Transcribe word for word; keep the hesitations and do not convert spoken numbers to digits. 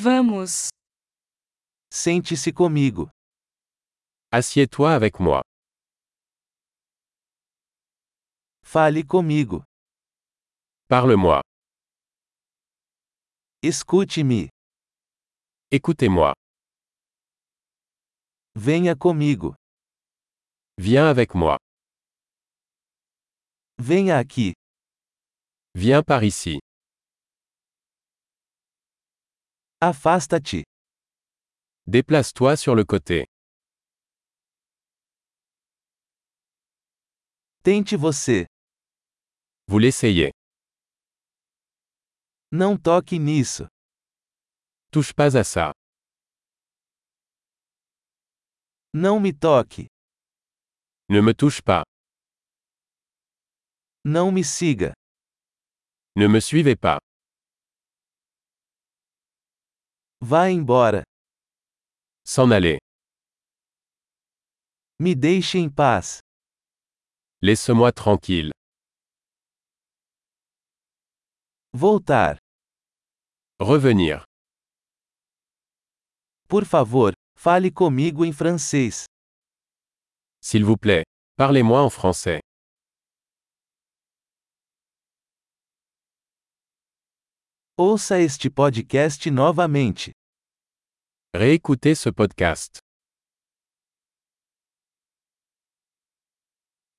Vamos. Sente-se comigo. Assieds-toi avec moi. Fale comigo. Parle-moi. Escute-me. Écoutez-moi. Venha comigo. Viens avec moi. Venha aqui. Viens par ici. Afasta-te. Déplace-toi sur le côté. Tente você. Vous l'essayez. Não toque nisso. Touche pas à ça. Não me toque. Ne me touche pas. Não me siga. Ne me suivez pas. Vá embora. S'en aller. Me deixe em paz. Laisse-moi tranquille. Voltar. Revenir. Por favor, fale comigo em francês. S'il vous plaît, parlez-moi en français. Ouça este podcast novamente. Réécoutez ce podcast.